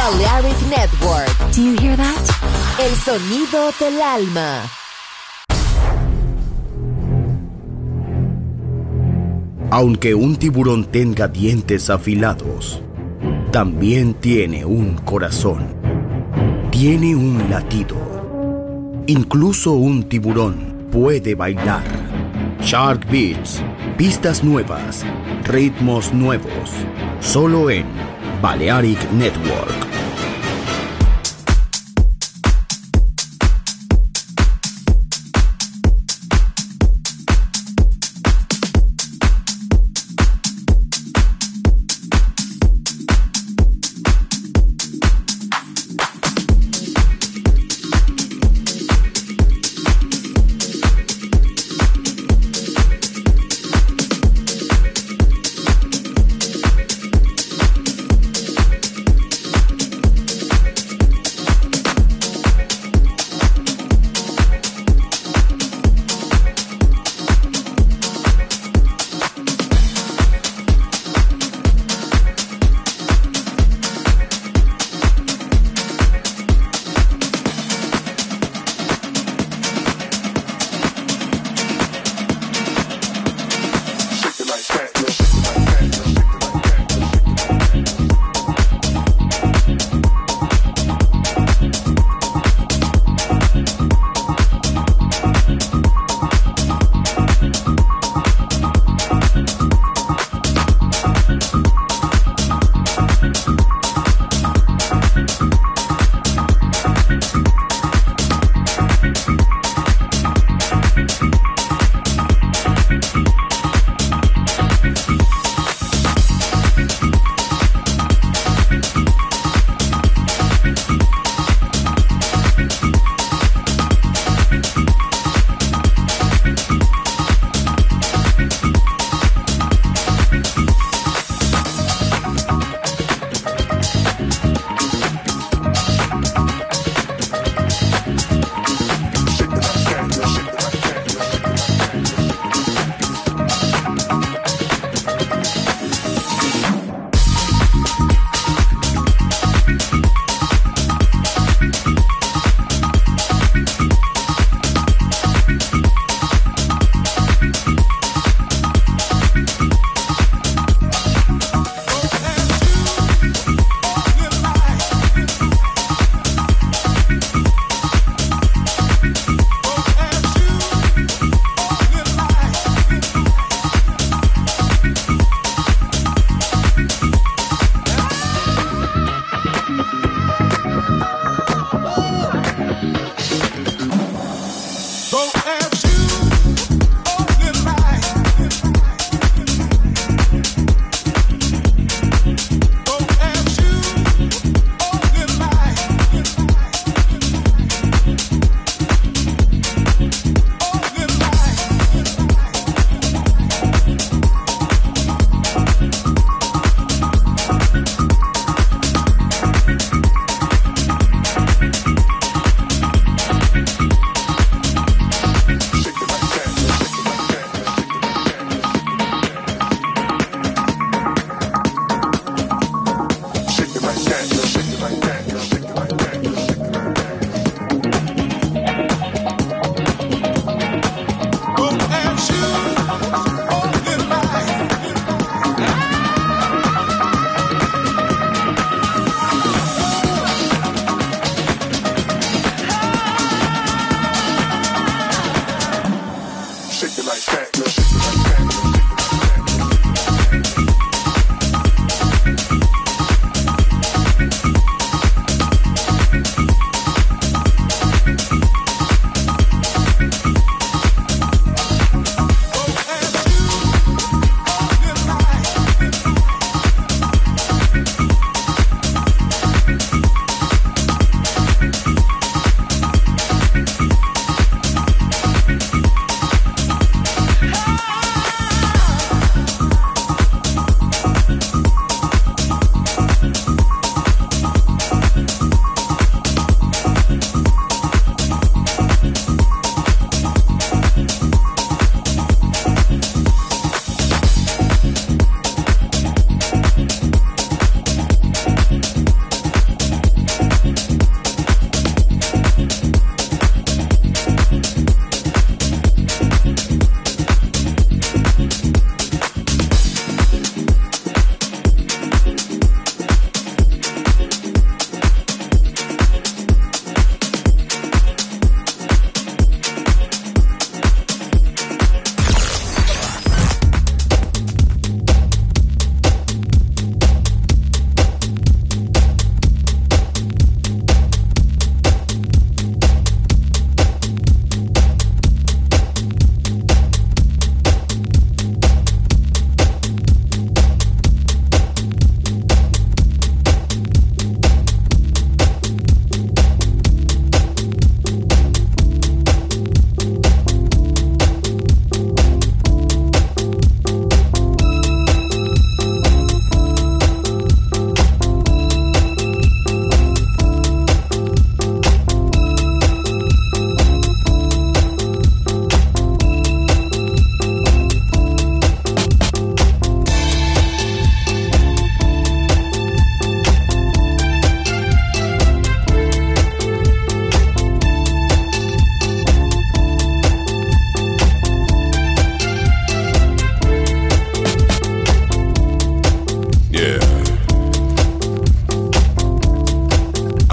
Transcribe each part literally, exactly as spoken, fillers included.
Balearic Network. Do you hear that? El sonido del alma. Aunque un tiburón tenga dientes afilados, también tiene un corazón. Tiene un latido. Incluso un tiburón puede bailar. Shark Beats, pistas nuevas, ritmos nuevos, solo en Balearic Network.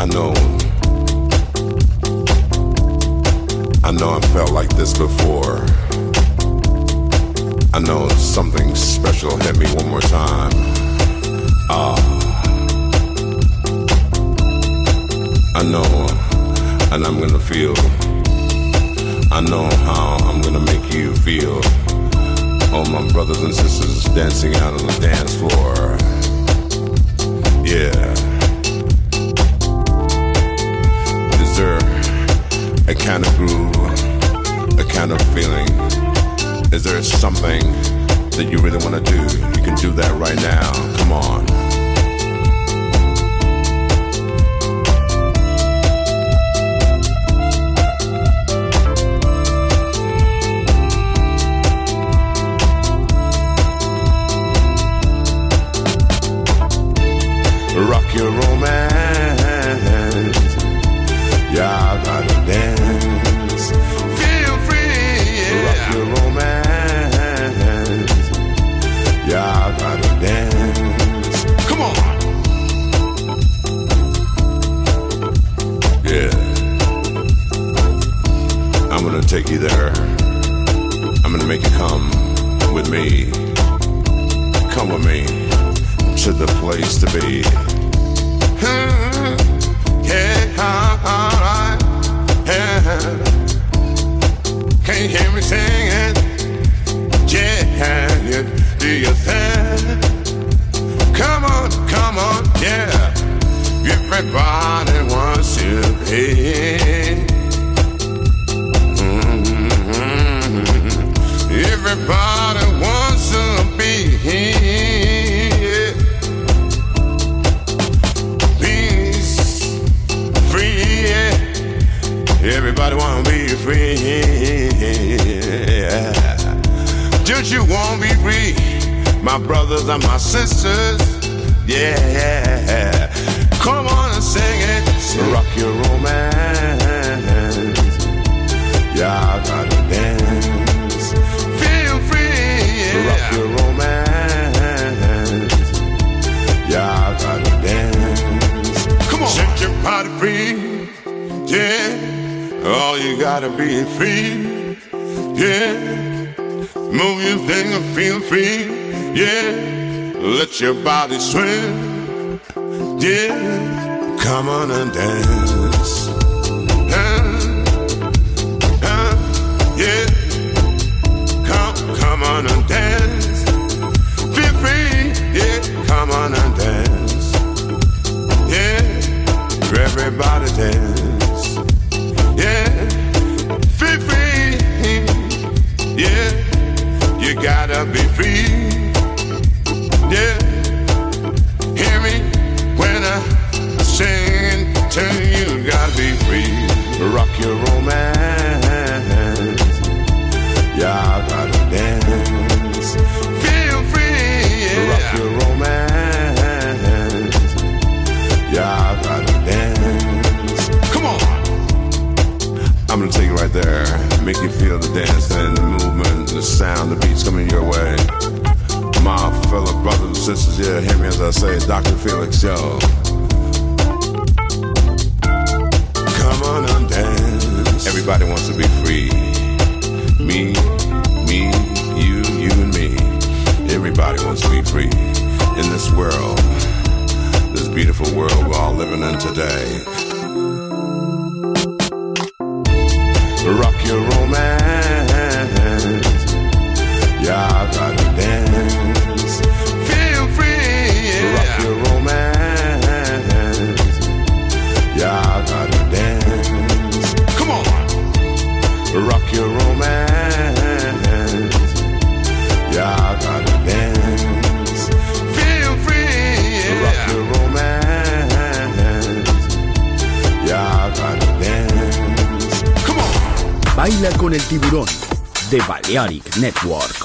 I know, I know I felt like this before. I know something special hit me one more time. Ah, I know, and I'm gonna feel. I know how I'm gonna make you feel. All my brothers and sisters dancing out on the dance floor. Yeah. Is there a kind of groove, a kind of feeling? Is there something that you really want to do? You can do that right now. Come on. Rock your romance. Yeah, I gotta dance. Feel free, yeah. Rock your romance. Yeah, I gotta dance. Come on. Yeah. I'm gonna take you there. I'm gonna make you come with me. Come with me to the place to be. Yeah, alright. Yeah. Can't hear me singing. Yeah, you do your thing. Come on, come on, yeah. Everybody wants to be. Mm-hmm. Everybody wants to be. Everybody wanna be free, yeah. Don't you wanna be free, my brothers and my sisters, yeah. Come on and sing it, rock your romance. Yeah, I gotta dance. Feel free, yeah. Rock your romance. Yeah, I gotta dance. Come on, set your body free, yeah. Oh, you gotta be free, yeah. Move your thing and feel free, yeah. Let your body swim, yeah. Come on and dance, uh, uh, yeah. Come, come on and dance. Feel free, yeah. Come on and dance, yeah. Everybody dance. Yeah, free, free, yeah, you gotta be free, yeah, hear me when I sing to you, you gotta be free, rock your romance, yeah, I gotta dance, feel free, yeah, rock your romance, yeah, I gotta dance, come on. I'm gonna take it right there, make you feel the dance and the movement, the sound, the beats coming your way. My fellow brothers and sisters, yeah, hear me as I say, Doctor Felix, yo. Come on and dance. Everybody wants to be free. Me, me, you, you and me. Everybody wants to be free in this world, this beautiful world we're all living in today. Rock your romance. Yeah, I gotta dance. Feel free, yeah. Rock your romance. Yeah, I gotta dance. Come on. Rock your romance. Yeah, I gotta dance. Feel free, yeah. Rock your romance. Yeah, I gotta dance. Come on. Baila con el tiburón de Balearic Network.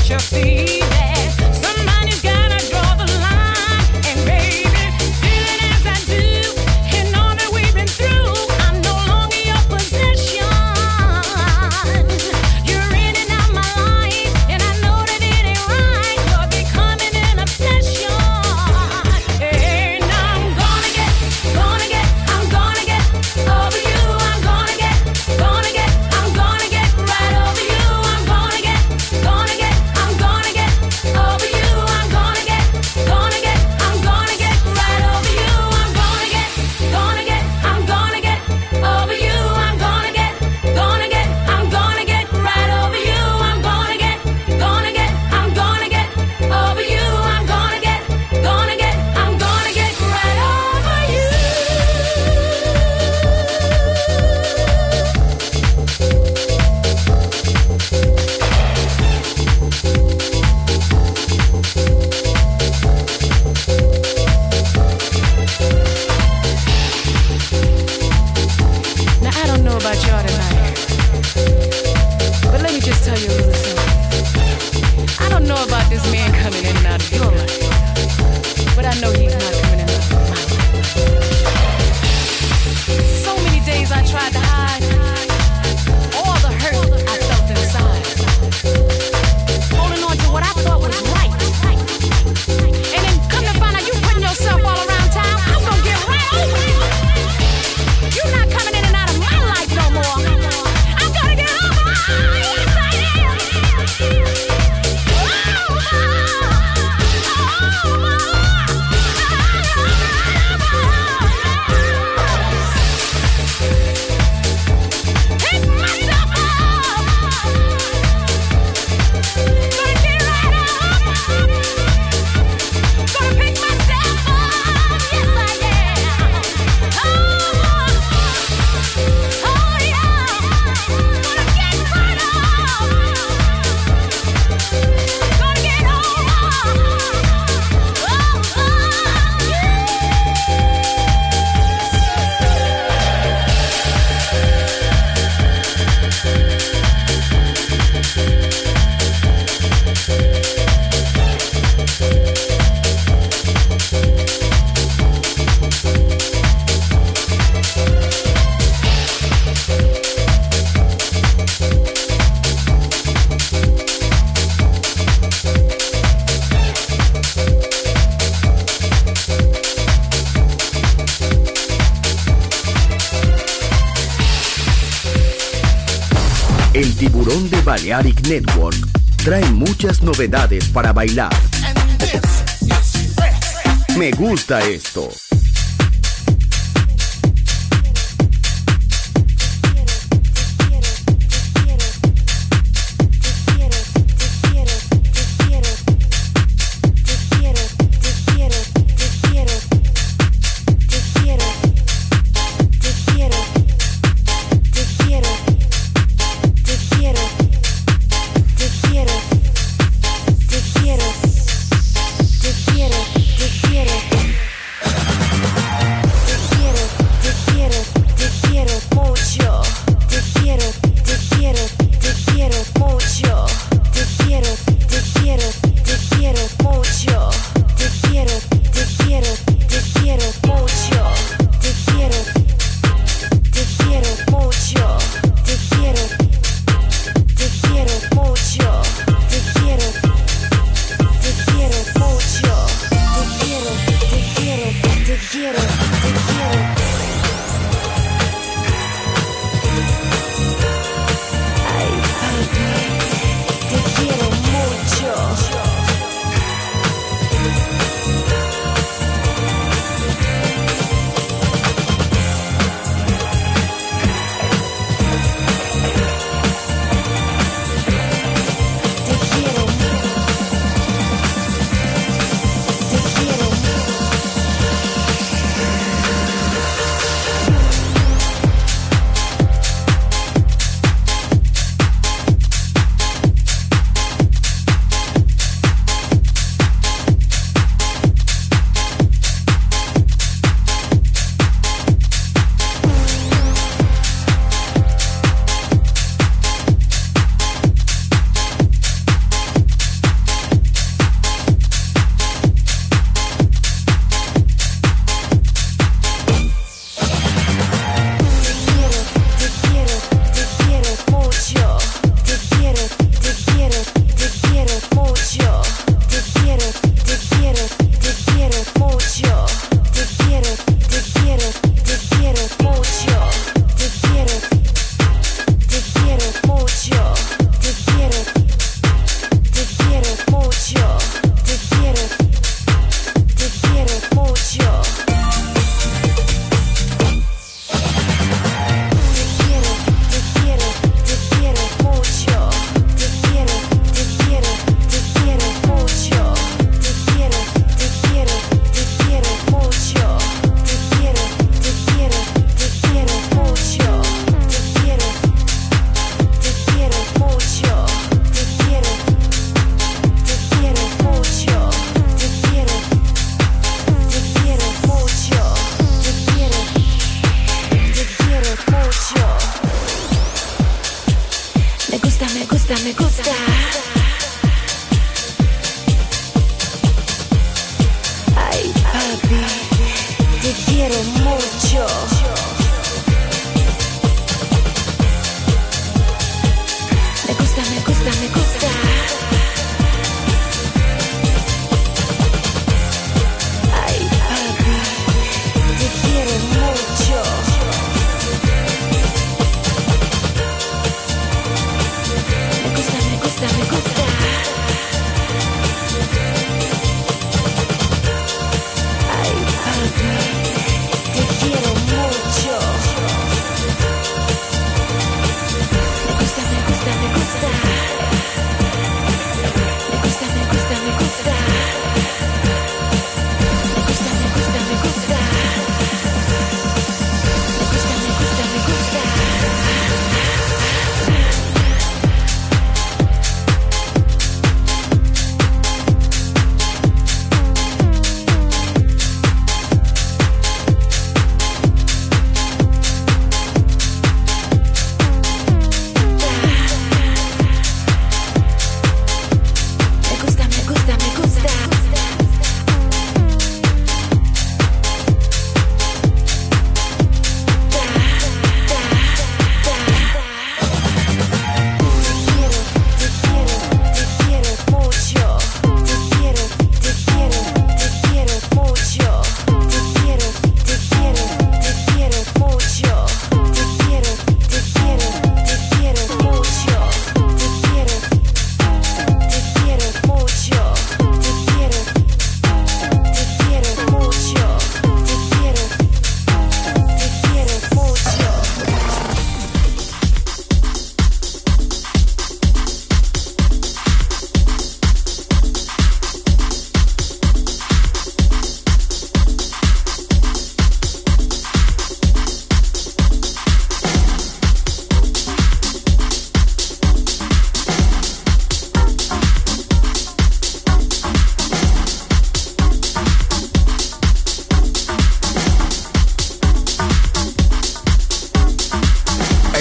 El Tiburón de Balearic Network trae muchas novedades para bailar. Me gusta esto.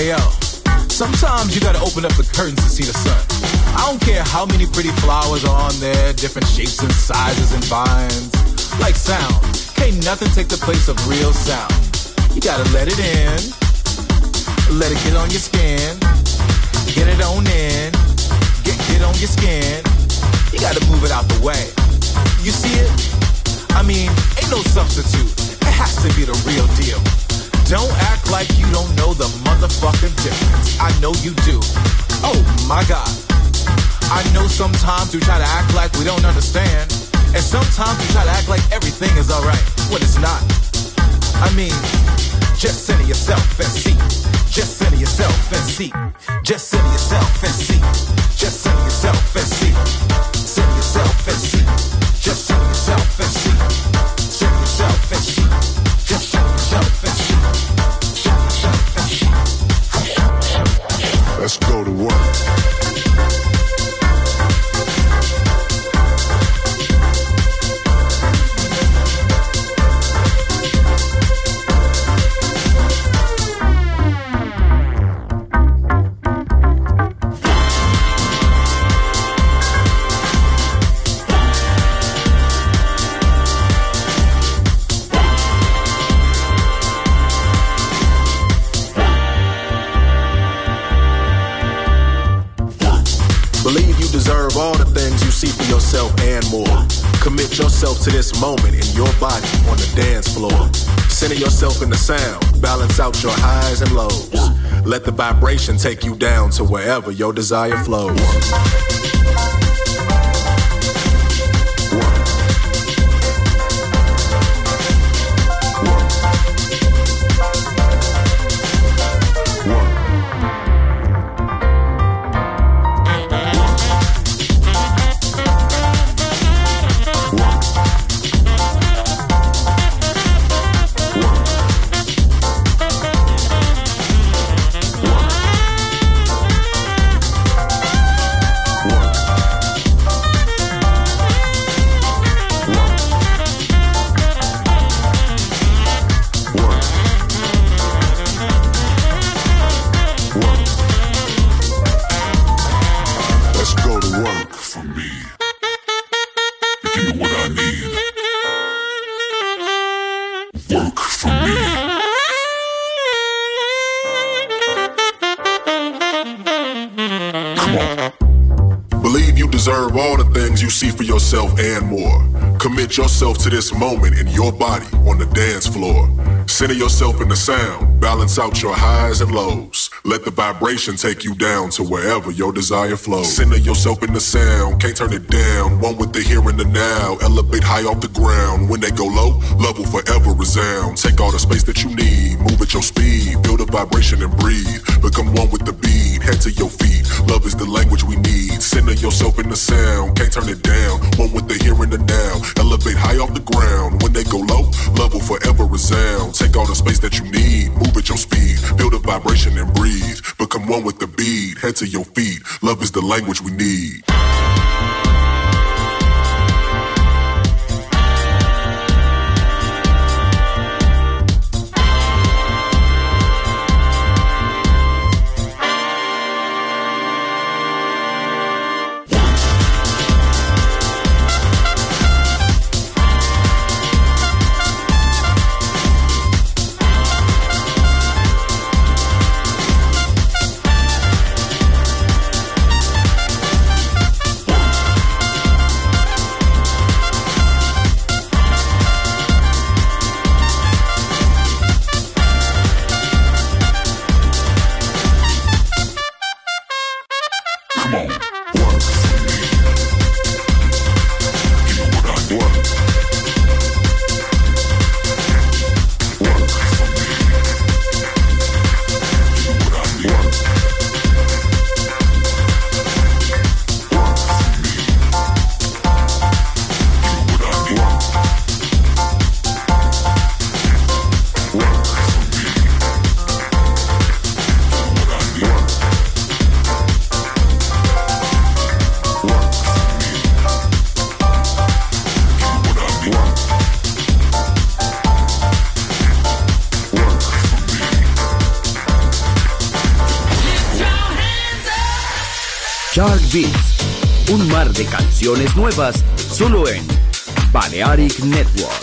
Hey yo, sometimes you gotta open up the curtains to see the sun. I don't care how many pretty flowers are on there, different shapes and sizes and vines. Like sound, can't nothing take the place of real sound. You gotta let it in, let it get on your skin, get it on in, get, get on your skin. You gotta move it out the way. You see it? I mean, ain't no substitute. It has to be the real deal. Don't act like you don't know the motherfucking difference. I know you do. Oh my God. I know sometimes we try to act like we don't understand. And sometimes we try to act like everything is alright when it's not. I mean, just center yourself and see. Just center yourself and see. Just center yourself and see. Just center yourself and see. Center yourself and see. Just center yourself and see. Center yourself and see. Just center yourself and see. Center yourself and see. Let's go to work. All the things you see for yourself and more. Commit yourself to this moment in your body on the dance floor. Center yourself in the sound. Balance out your highs and lows. Let the vibration take you down to wherever your desire flows. All the things you see for yourself and more. Commit yourself to this moment in your body on the dance floor. Center yourself in the sound. Balance out your highs and lows. Let the vibration take you down to wherever your desire flows. Center yourself in the sound. Can't turn it down. One with the here and the now. Elevate high off the ground. When they go low, love will forever resound. Take all the space that you need. Move at your speed. Feel the vibration and breathe. Become one with the beat. Head to your feet. Love is the language we need. Center yourself in the sound. Can't turn it down. One with the here and the now. Elevate high off the ground. When they go low, love will forever resound. Take all the space that you need. Move at your speed. Feel the vibration and breathe. Become one with the beat. Head to your feet. Love is the language we need. Shark Beats, un mar de canciones nuevas solo en Balearic Network.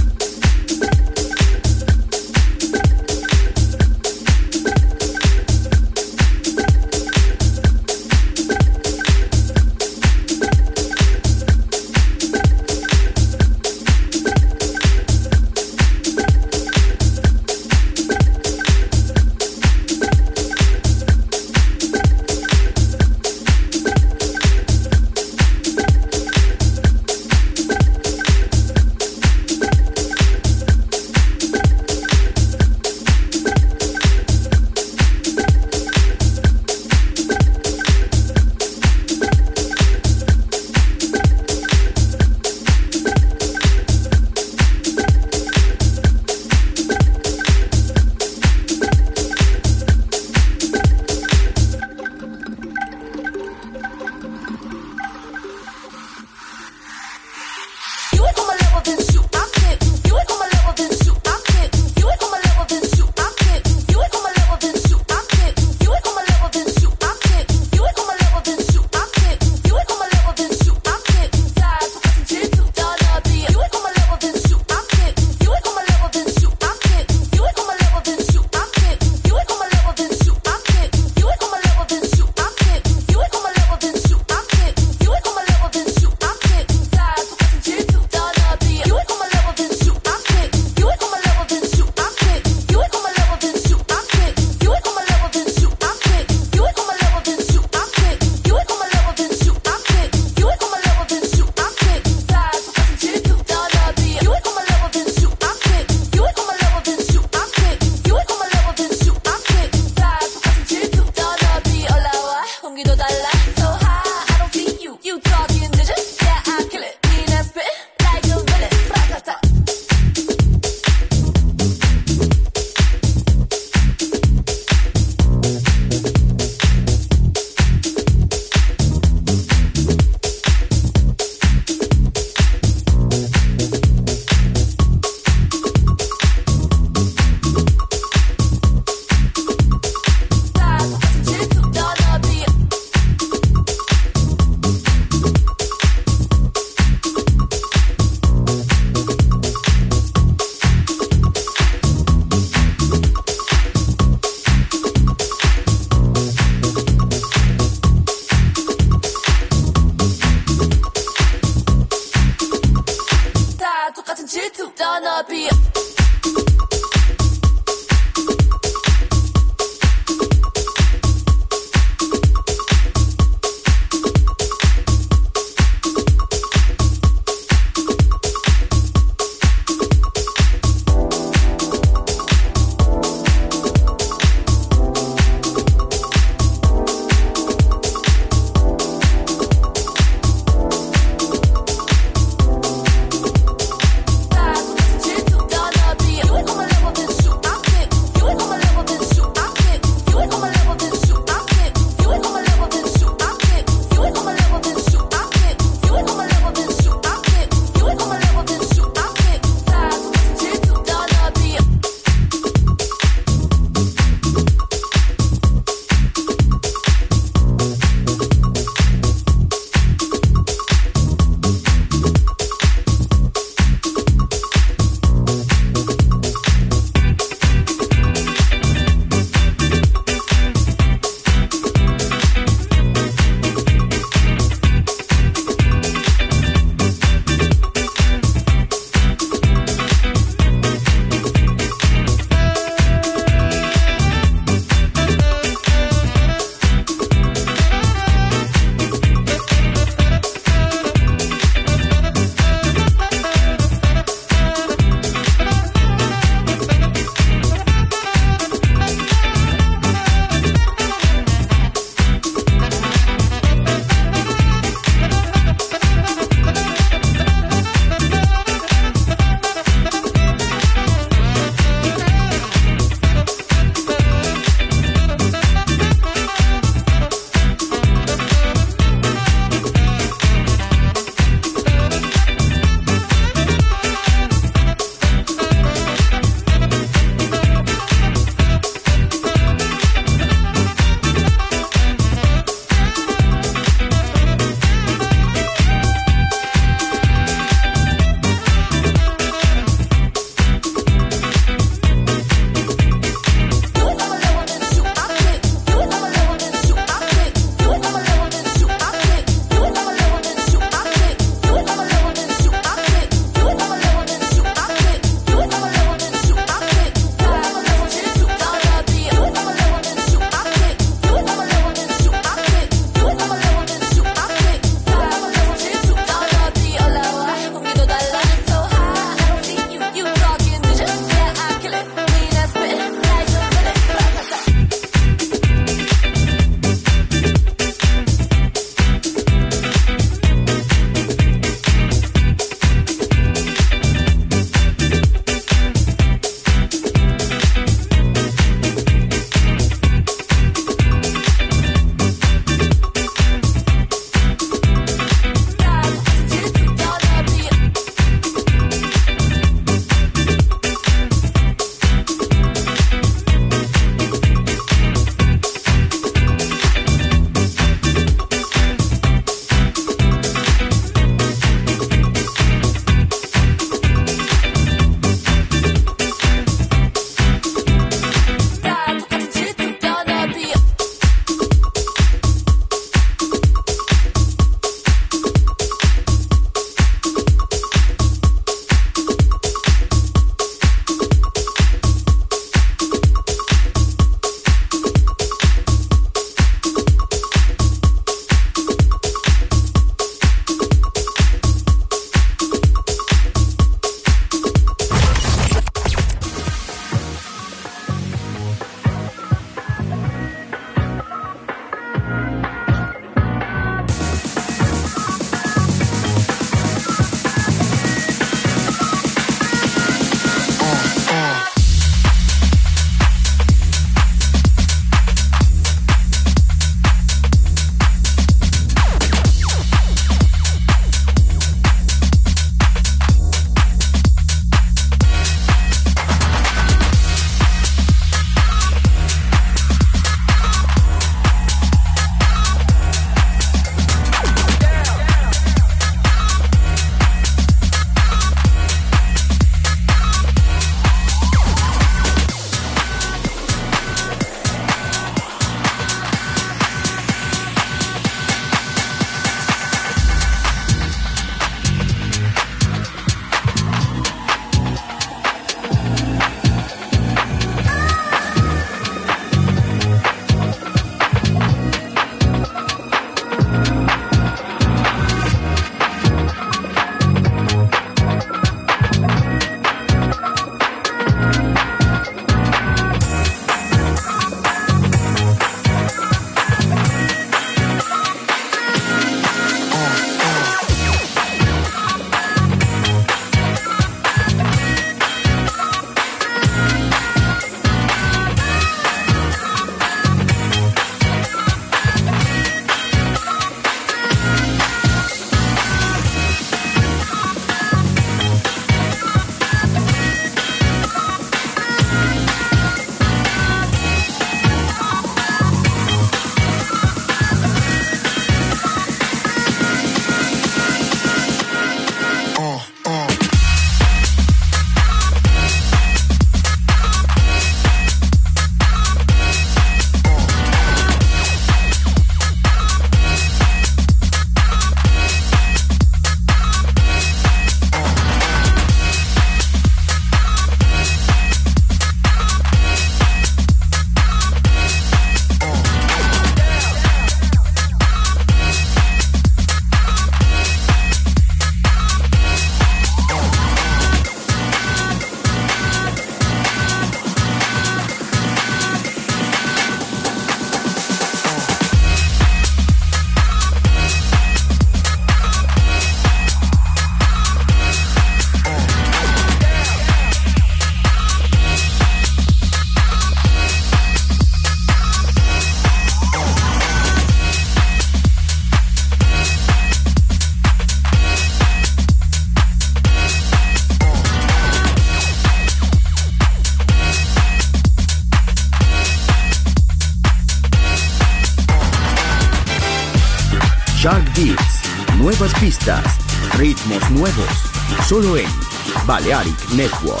Shark Beats, nuevas pistas, ritmos nuevos, solo en Balearic Network.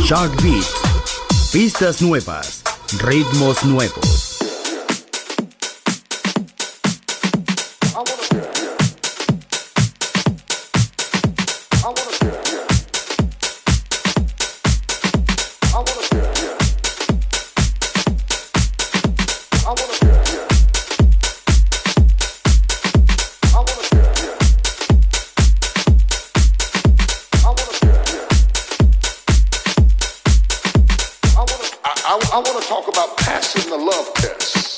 Shark Beats. Pistas nuevas, ritmos nuevos. I want to talk about passing the love test.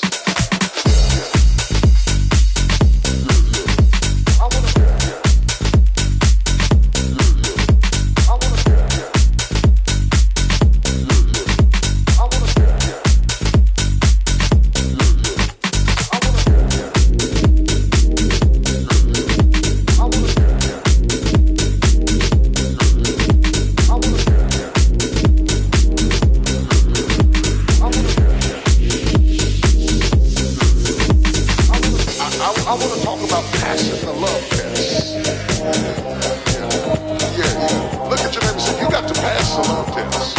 I want to talk about passing the love test. Yeah, yeah. Look at your neighbor and say, you got to pass the love test.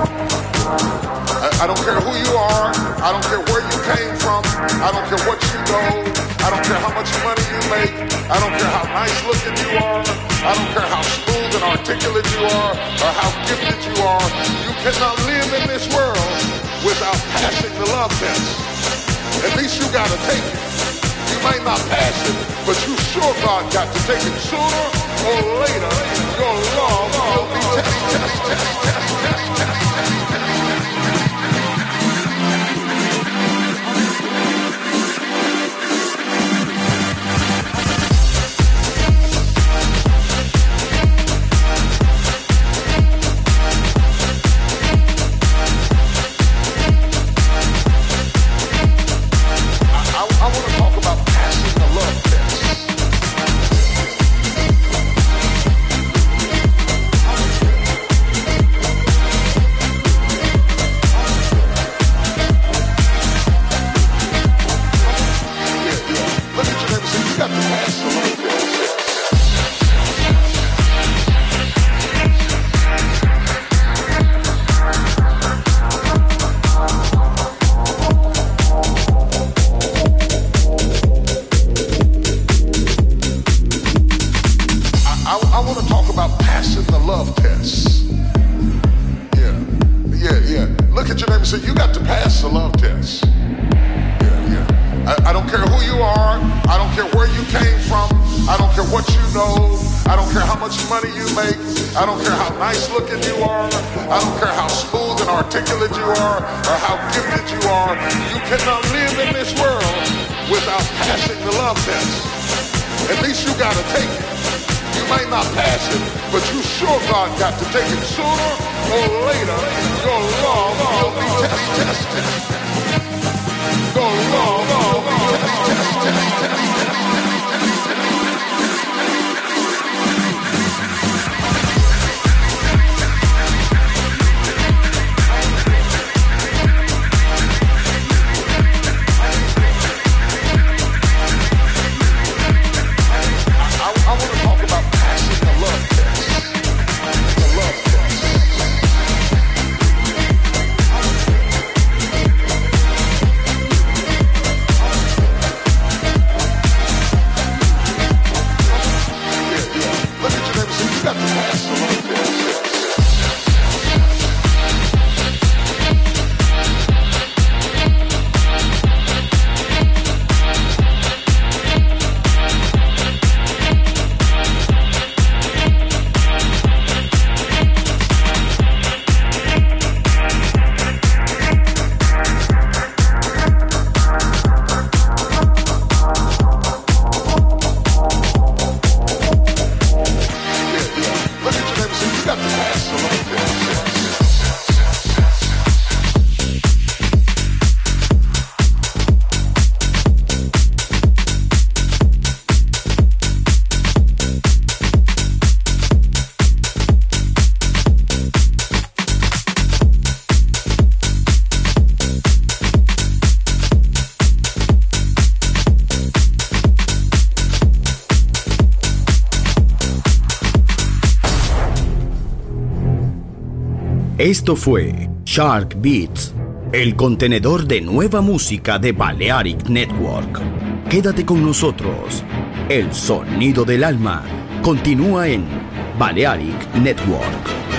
I, I don't care who you are. I don't care where you came from. I don't care what you know. I don't care how much money you make. I don't care how nice looking you are. I don't care how smooth and articulate you are or how gifted you are. You cannot live in this world without passing the love test. At least you got to take it. You might not pass it, but you sure God got to take it sooner or later. Your love will be tested. Esto fue Shark Beats, el contenedor de nueva música de Balearic Network. Quédate con nosotros. El sonido del alma continúa en Balearic Network.